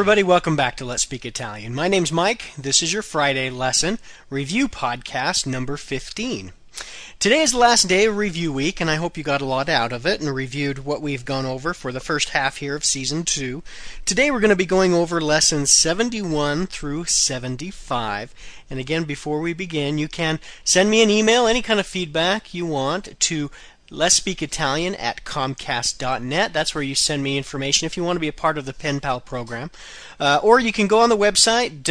everybody, welcome back to Let's Speak Italian. My name's Mike. This is your Friday lesson review podcast number 15. Today is the last day of review week, and I hope you got a lot out of it and reviewed what we've gone over for the first half here of Season 2. Today we're going to be going over lessons 71 through 75. And again, before we begin, you can send me an email, any kind of feedback you want, to letspeakitalian@comcast.net. That's where you send me information if you want to be a part of the Pen Pal program. Or you can go on the website,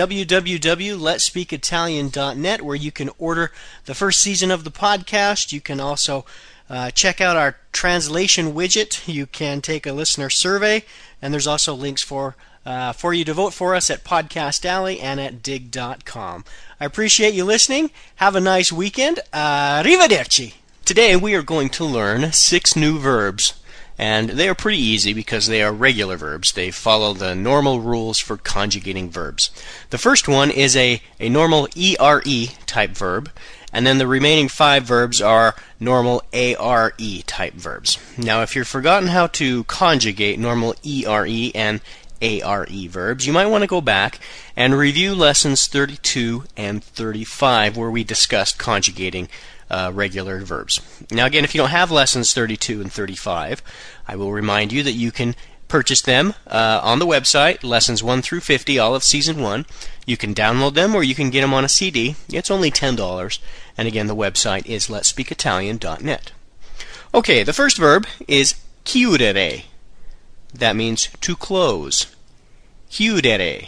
www.letspeakitalian.net, where you can order the first season of the podcast. You can also check out our translation widget. You can take a listener survey, and there's also links for you to vote for us at Podcast Alley and at dig.com. I appreciate you listening. Have a nice weekend. Arrivederci. Today we are going to learn 6 new verbs, and they are pretty easy because they are regular verbs. They follow the normal rules for conjugating verbs. The first one is a normal ERE type verb, and then the remaining 5 verbs are normal ARE type verbs. Now, if you've forgotten how to conjugate normal ERE and ARE verbs, you might want to go back and review lessons 32 and 35 where we discussed conjugating regular verbs. Now again, if you don't have lessons 32 and 35, I will remind you that you can purchase them on the website, lessons 1 through 50, all of Season 1. You can download them or you can get them on a CD. It's only $10. And again, the website is letspeakitalian.net. Okay, the first verb is chiudere. That means to close. Chiudere.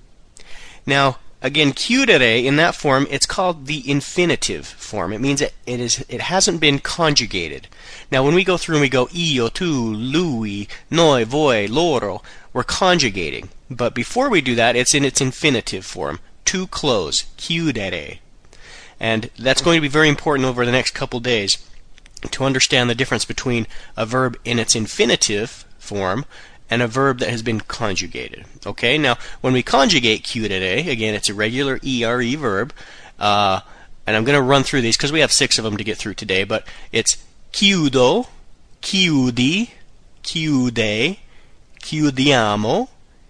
Now, again, chiudere, in that form, it's called the infinitive form. It means it hasn't been conjugated. Now, when we go through and we go io, tu, lui, noi, voi, loro, we're conjugating. But before we do that, it's in its infinitive form. To close. Chiudere. And that's going to be very important over the next couple days to understand the difference between a verb in its infinitive form and a verb that has been conjugated. Okay, now when we conjugate chiudere, again, it's a regular ERE verb, and I'm going to run through these because we have 6 of them to get through today, but it's chiudo, chiudi, chiude, chiudiamo,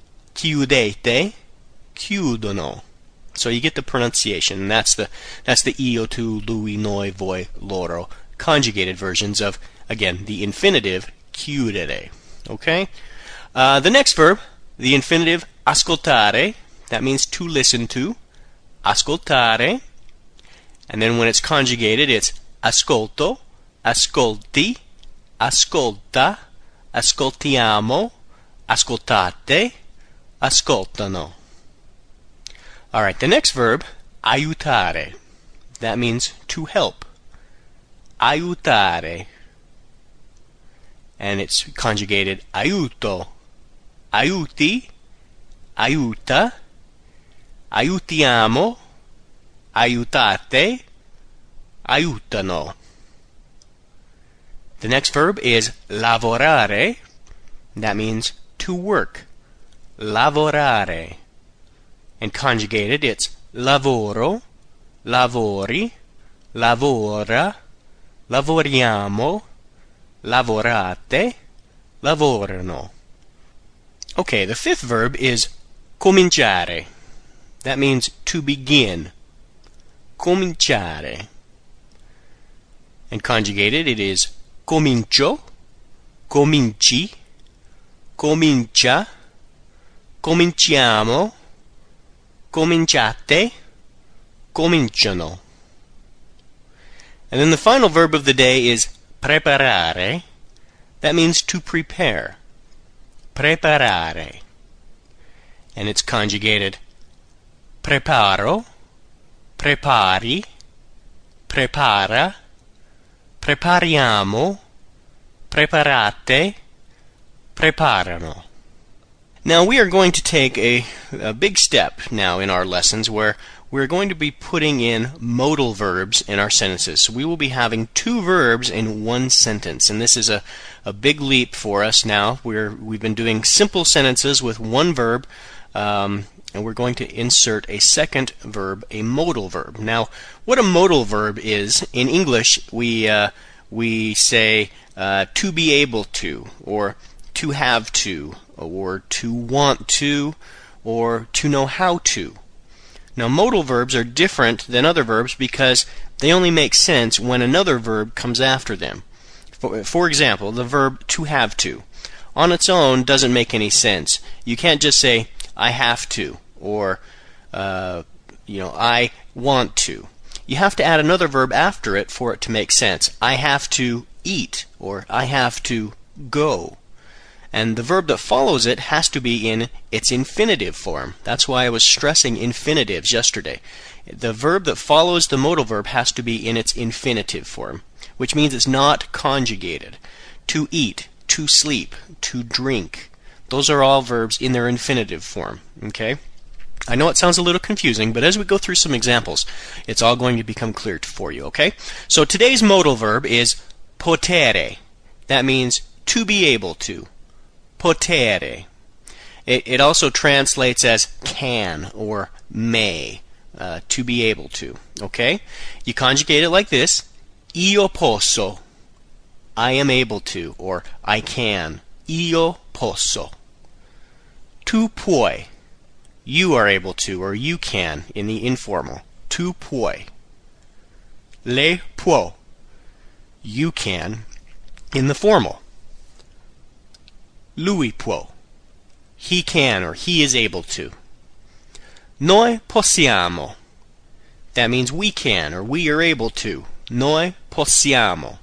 chiudete, chiudono. So you get the pronunciation, and that's the io, tu, lui, noi, voi, loro, conjugated versions of, again, the infinitive chiudere. Okay? The next verb, the infinitive ascoltare, that means to listen to. Ascoltare. And then when it's conjugated, it's ascolto, ascolti, ascolta, ascoltiamo, ascoltate, ascoltano. Alright, the next verb, aiutare. That means to help. Aiutare. And it's conjugated aiuto, aiuti, aiuta, aiutiamo, aiutate, aiutano. The next verb is lavorare. That means to work. Lavorare. And conjugated, it's lavoro, lavori, lavora, lavoriamo, lavorate, lavorano. Okay, the 5th verb is cominciare. That means to begin. Cominciare. And conjugated, it is comincio, cominci, comincia, cominciamo, cominciate, cominciano. And then the final verb of the day is preparare. That means to prepare. Preparare. And it's conjugated preparo, prepari, prepara, prepariamo, preparate, preparano. Now we are going to take a big step now in our lessons where we're going to be putting in modal verbs in our sentences. So we will be having 2 verbs in one sentence, and this is a big leap for us now. We've been doing simple sentences with 1 verb, and we're going to insert a second verb, a modal verb. Now, what a modal verb is, in English, we say to be able to, or to have to, or to want to, or to know how to. Now, modal verbs are different than other verbs because they only make sense when another verb comes after them. For example, the verb to have to. On its own doesn't make any sense. You can't just say, I have to, or, I want to. You have to add another verb after it for it to make sense. I have to eat, or I have to go. And the verb that follows it has to be in its infinitive form. That's why I was stressing infinitives yesterday. The verb that follows the modal verb has to be in its infinitive form, which means it's not conjugated. To eat, to sleep, to drink. Those are all verbs in their infinitive form. Okay? I know it sounds a little confusing, but as we go through some examples, it's all going to become clear for you. Okay? So today's modal verb is potere. That means to be able to. Potere. It also translates as can or may, to be able to. Okay? You conjugate it like this. Io posso. I am able to, or I can. Io posso. Tu puoi. You are able to, or you can, in the informal. Tu puoi. Lei può. You can, in the formal. Lui può. He can, or he is able to. Noi possiamo. That means we can, or we are able to. Noi possiamo.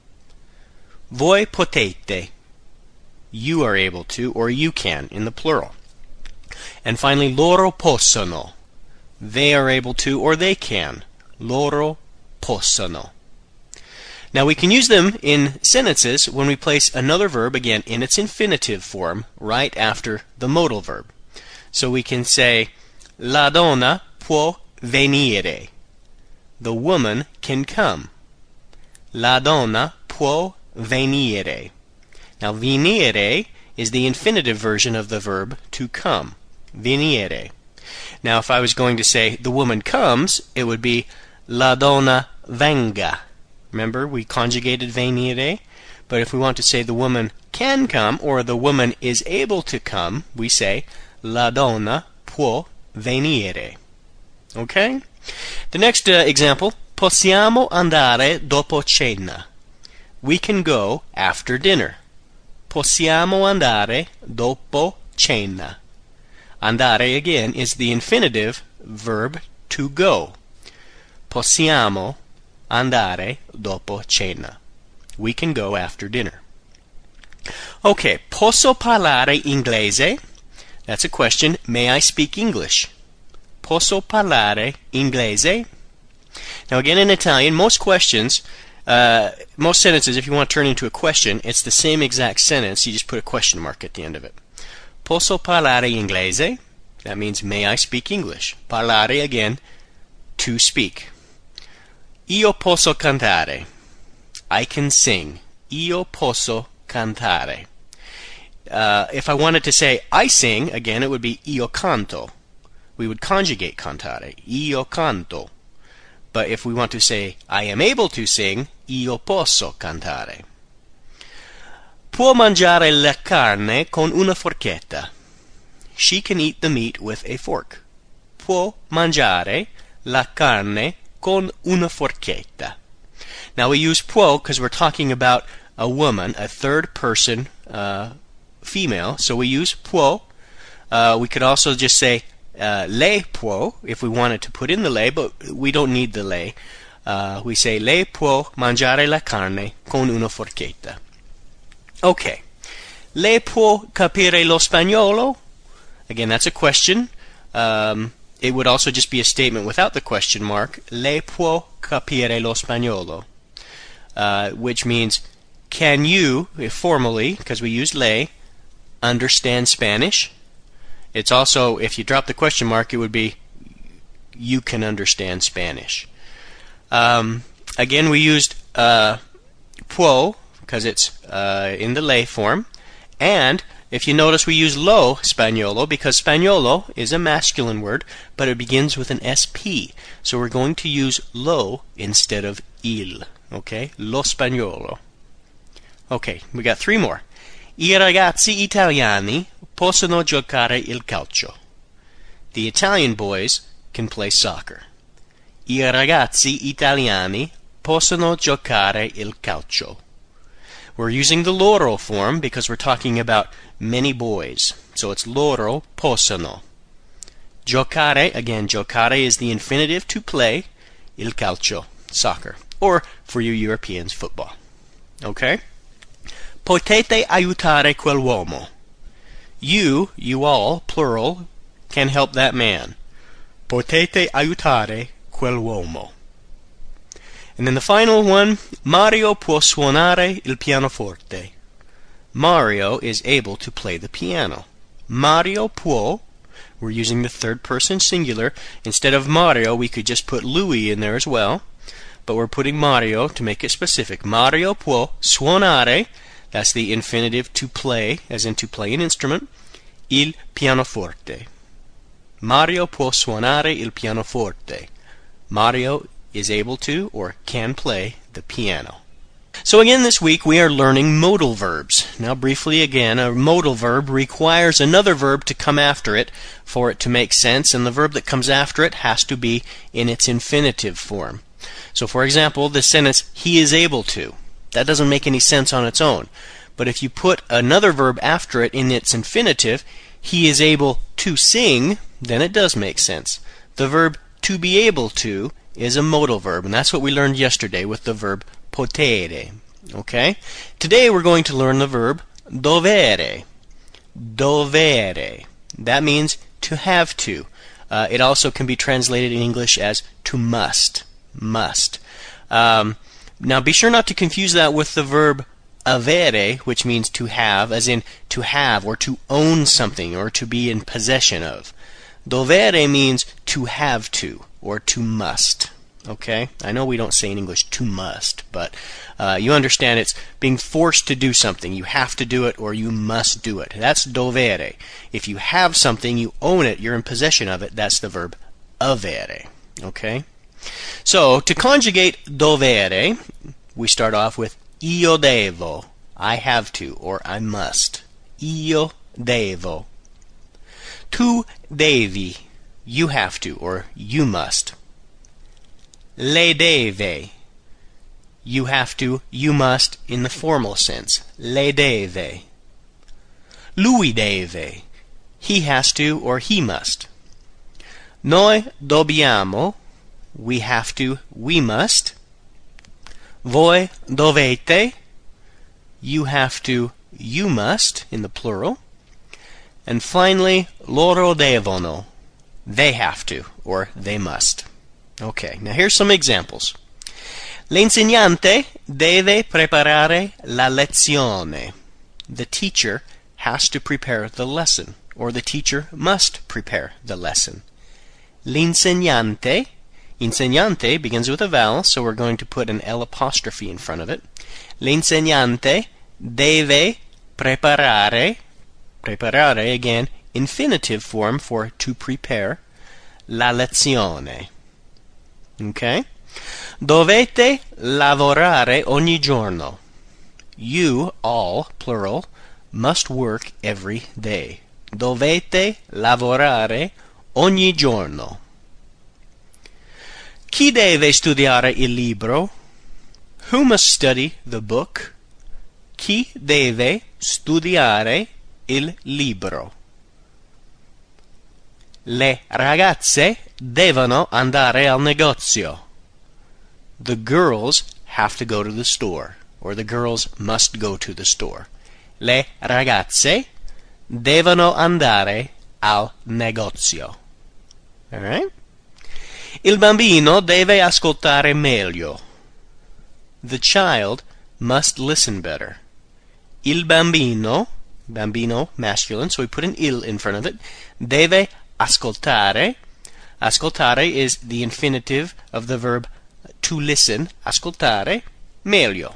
Voi potete. You are able to, or you can, in the plural. And finally, loro possono. They are able to, or they can. Loro possono. Now we can use them in sentences when we place another verb, again, in its infinitive form, right after the modal verb. So we can say, la donna può venire. The woman can come. La donna può venire. Now, venire is the infinitive version of the verb to come. Venire. Now, if I was going to say the woman comes, it would be la donna venga. Remember, we conjugated venire. But if we want to say the woman can come, or the woman is able to come, we say la donna può venire. Okay? The next example, possiamo andare dopo cena. We can go after dinner. Possiamo andare dopo cena. Andare, again, is the infinitive verb to go. Possiamo andare dopo cena. We can go after dinner. Okay, posso parlare inglese? That's a question. May I speak English? Posso parlare inglese? Now again, in Italian, most sentences, if you want to turn into a question, it's the same exact sentence, you just put a question mark at the end of it. Posso parlare inglese? That means, may I speak English? Parlare, again, to speak. Io posso cantare. I can sing. Io posso cantare. If I wanted to say I sing, again, it would be io canto. We would conjugate cantare. Io canto. But if we want to say I am able to sing, io posso cantare. Può mangiare la carne con una forchetta. She can eat the meat with a fork. Può mangiare la carne con una forchetta. Now we use può because we're talking about a woman, a third person female, so we use può. We could also just say lei può if we wanted to put in the lei, but we don't need the lei. We say lei può mangiare la carne con una forchetta. Okay. Lei può capire lo spagnolo? Again, that's a question. It would also just be a statement without the question mark. Lei può capire lo spagnolo? Which means, can you, formally, because we use lei, understand Spanish? It's also, if you drop the question mark, it would be, you can understand Spanish. Again, we used può, because it's in the lei form. And if you notice, we use lo spagnolo, because spagnolo is a masculine word, but it begins with an SP. So we're going to use lo instead of il. Okay? Lo spagnolo. Okay, we got three more. I ragazzi italiani possono giocare il calcio. The Italian boys can play soccer. I ragazzi italiani possono giocare il calcio. We're using the loro form because we're talking about many boys. So it's loro possono. Giocare, again, giocare is the infinitive to play, il calcio, soccer. Or, for you Europeans, football. Okay? Potete aiutare quell'uomo. You all, plural, can help that man. Potete aiutare quell'uomo. And then the final one, Mario può suonare il pianoforte. Mario is able to play the piano. Mario può, we're using the third person singular. Instead of Mario, we could just put Louis in there as well. But we're putting Mario to make it specific. Mario può suonare, that's the infinitive to play, as in to play an instrument, il pianoforte. Mario può suonare il pianoforte. Mario is able to or can play the piano. So again this week we are learning modal verbs. Now briefly again, a modal verb requires another verb to come after it for it to make sense, and the verb that comes after it has to be in its infinitive form. So for example, the sentence, he is able to. That doesn't make any sense on its own. But if you put another verb after it in its infinitive, he is able to sing, then it does make sense. The verb to be able to is a modal verb, and that's what we learned yesterday with the verb potere. Okay? Today we're going to learn the verb dovere. Dovere. That means to have to. It also can be translated in English as to must. Must. Now be sure not to confuse that with the verb avere, which means to have, as in to have or to own something or to be in possession of. Dovere means to have to or to must. Okay? I know we don't say in English to must, but you understand it's being forced to do something. You have to do it or you must do it. That's dovere. If you have something, you own it, you're in possession of it, that's the verb avere. Okay? So, to conjugate dovere, we start off with io devo. I have to or I must. Io devo. Tu devi. You have to or you must. Lei deve. You have to, you must in the formal sense. Lei deve. Lui deve. He has to or he must. Noi dobbiamo. We have to, we must. Voi dovete. You have to, you must in the plural. And finally, loro devono. They have to or they must. Okay, now here's some examples. L'insegnante deve preparare la lezione. The teacher has to prepare the lesson, or the teacher must prepare the lesson. L'insegnante, insegnante begins with a vowel, so we're going to put an L apostrophe in front of it. L'insegnante deve preparare, preparare again, infinitive form for to prepare, la lezione. Okay? Dovete lavorare ogni giorno. You, all, plural, must work every day. Dovete lavorare ogni giorno. Chi deve studiare il libro? Who must study the book? Chi deve studiare il libro? Le ragazze devono andare al negozio. The girls have to go to the store, or the girls must go to the store. Le ragazze devono andare al negozio. All right? Il bambino deve ascoltare meglio. The child must listen better. Il bambino, bambino, masculine, so we put an il in front of it, deve ascoltare. Ascoltare is the infinitive of the verb to listen, ascoltare, meglio.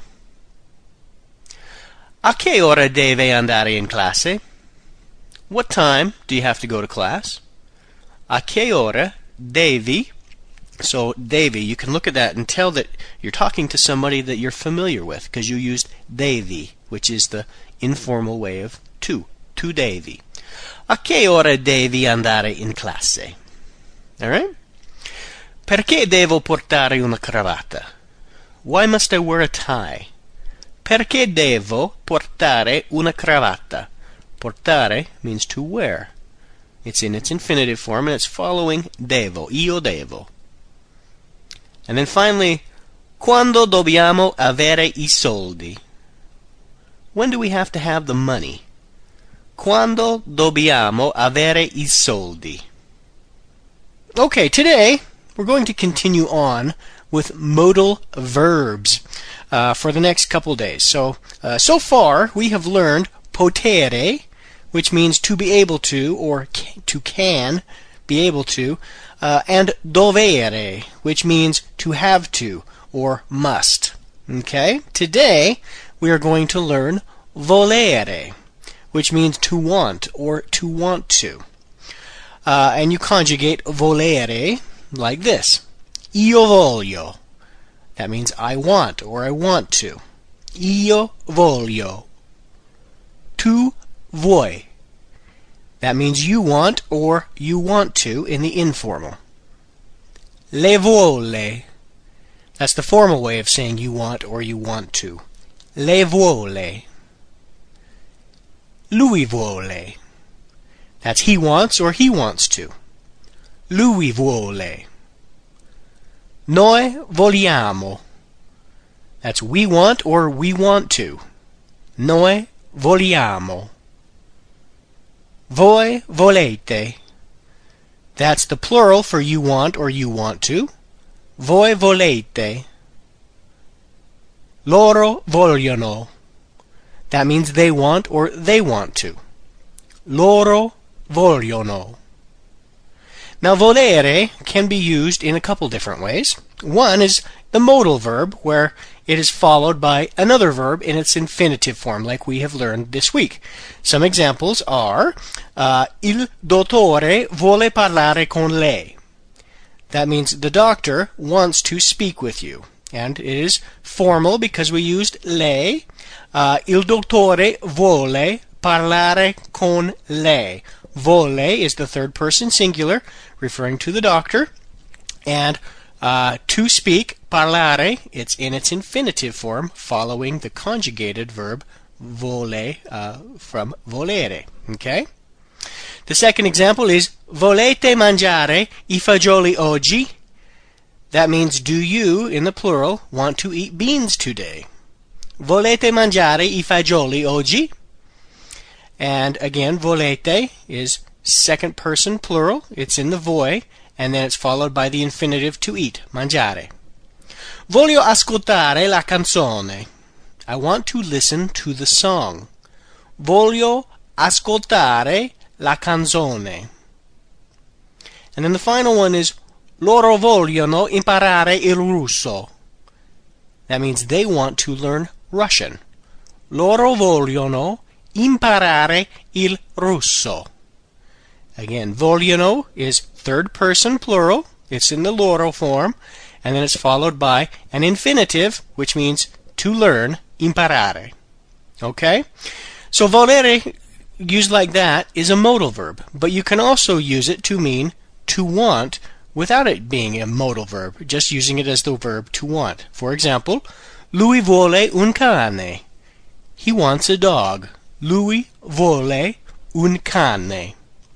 A che ora deve andare in classe? What time do you have to go to class? A che ora devi? So devi, you can look at that and tell that you're talking to somebody that you're familiar with because you used devi, which is the informal way of tu devi. A che ora devi andare in classe? All right? Perché devo portare una cravatta? Why must I wear a tie? Perché devo portare una cravatta? Portare means to wear. It's in its infinitive form and it's following devo. Io devo. And then finally, quando dobbiamo avere I soldi? When do we have to have the money? Quando dobbiamo avere I soldi? Okay, today we're going to continue on with modal verbs for the next couple days. So far we have learned potere, which means to be able to or to can be able to, and dovere, which means to have to or must. Okay? Today we are going to learn volere, which means to want or to want to. And you conjugate volere like this. Io voglio. That means I want or I want to. Io voglio. Tu vuoi. That means you want or you want to in the informal. Le vuole. That's the formal way of saying you want or you want to. Le vuole. Lui vuole. That's he wants or he wants to. Lui vuole. Noi vogliamo. That's we want or we want to. Noi vogliamo. Voi volete. That's the plural for you want or you want to. Voi volete. Loro vogliono. That means they want or they want to. Loro vogliono. Now, volere can be used in a couple different ways. One is the modal verb, where it is followed by another verb in its infinitive form, like we have learned this week. Some examples are, il dottore vuole parlare con lei. That means the doctor wants to speak with you. And it is formal because we used lei. Il dottore vuole parlare con lei. Vuole is the third person singular, referring to the doctor. And to speak, parlare, it's in its infinitive form, following the conjugated verb vole from volere. Okay? The second example is volete mangiare I fagioli oggi? That means, do you, in the plural, want to eat beans today? Volete mangiare I fagioli oggi? And again, volete is second person plural. It's in the voi, and then it's followed by the infinitive to eat, mangiare. Voglio ascoltare la canzone. I want to listen to the song. Voglio ascoltare la canzone. And then the final one is loro vogliono imparare il russo. That means they want to learn Russian. Loro vogliono imparare il russo. Again, vogliono is third person plural. It's in the loro form. And then it's followed by an infinitive, which means to learn, imparare. Okay? So volere, used like that, is a modal verb. But you can also use it to mean to want without it being a modal verb, just using it as the verb to want. For example, lui vuole un cane. He wants a dog. Lui vuole un cane.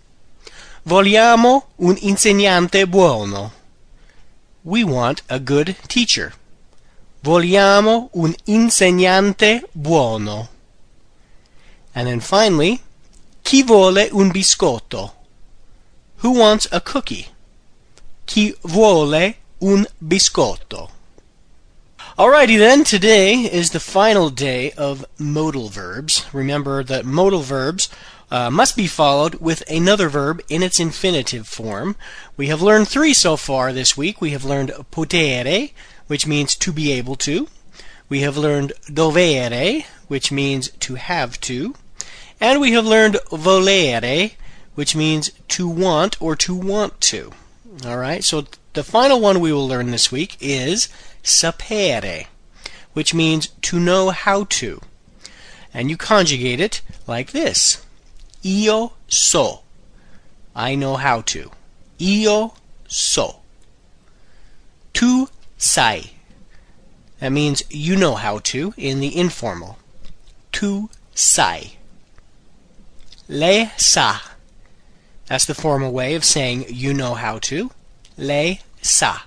Vogliamo un insegnante buono. We want a good teacher. Vogliamo un insegnante buono. And then finally, chi vuole un biscotto? Who wants a cookie? Chi vuole un biscotto? Alrighty then, today is the final day of modal verbs. Remember that modal verbs must be followed with another verb in its infinitive form. We have learned 3 so far this week. We have learned potere, which means to be able to. We have learned dovere, which means to have to. And we have learned volere, which means to want or to want to. Alright, so the final one we will learn this week is sapere, which means to know how to. And you conjugate it like this. Io so. I know how to. Io so. Tu sai. That means you know how to in the informal. Tu sai. Lei sa. That's the formal way of saying you know how to. Lei sa.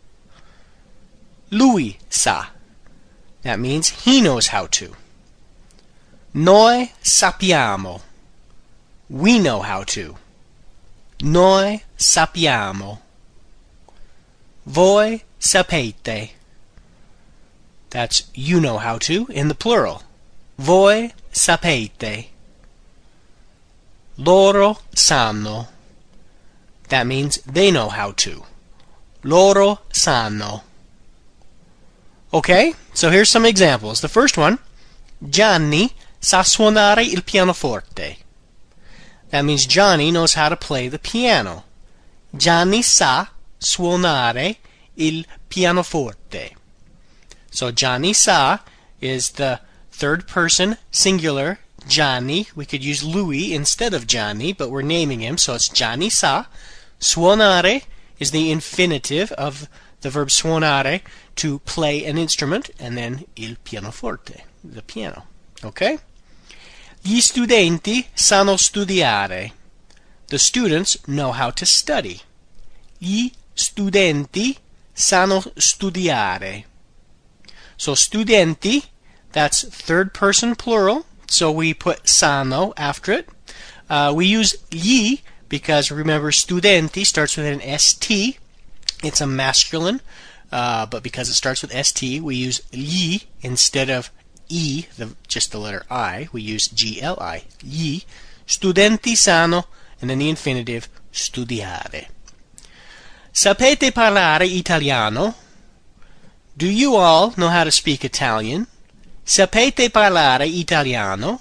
Lui sa. That means he knows how to. Noi sappiamo. We know how to. Noi sappiamo. Voi sapete. That's you know how to in the plural. Voi sapete. Loro sanno. That means they know how to. Loro sanno. Okay, so here's some examples. The first one, Gianni sa suonare il pianoforte. That means Johnny knows how to play the piano. Gianni sa suonare il pianoforte. So Gianni sa is the third person singular Gianni. We could use Lui instead of Gianni, but we're naming him, so it's Gianni sa. Suonare is the infinitive of the verb suonare, to play an instrument, and then il pianoforte, the piano. Okay? Gli studenti sanno studiare. The students know how to study. Gli studenti sanno studiare. So studenti, that's third person plural, so we put sanno after it. We use gli because remember studenti starts with an st. It's a masculine, but because it starts with st, we use gli instead of e, just the letter I. We use gli. Gli studenti sanno, and then the infinitive studiare. Sapete parlare italiano? Do you all know how to speak Italian? Sapete parlare italiano?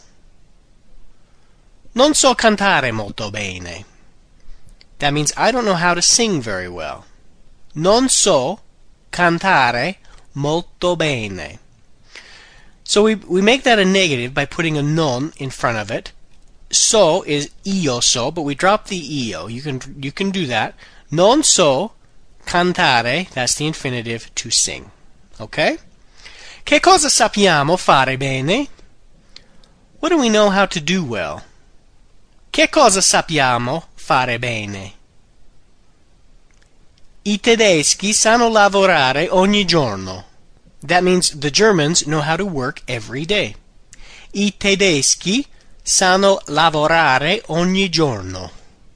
Non so cantare molto bene. That means I don't know how to sing very well. Non so cantare molto bene. So we make that a negative by putting a non in front of it. So is io so, but we drop the io. You can do that. Non so cantare, that's the infinitive, to sing. Okay? Che cosa sappiamo fare bene? What do we know how to do well? Che cosa sappiamo fare bene? I tedeschi sanno lavorare ogni giorno. That means the Germans know how to work every day. I tedeschi sanno lavorare ogni giorno.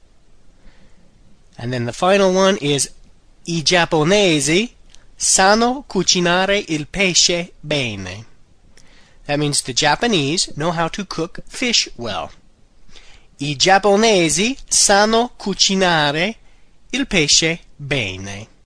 And then the final one is I giapponesi sanno cucinare il pesce bene. That means the Japanese know how to cook fish well. I giapponesi sanno cucinare il pesce bene.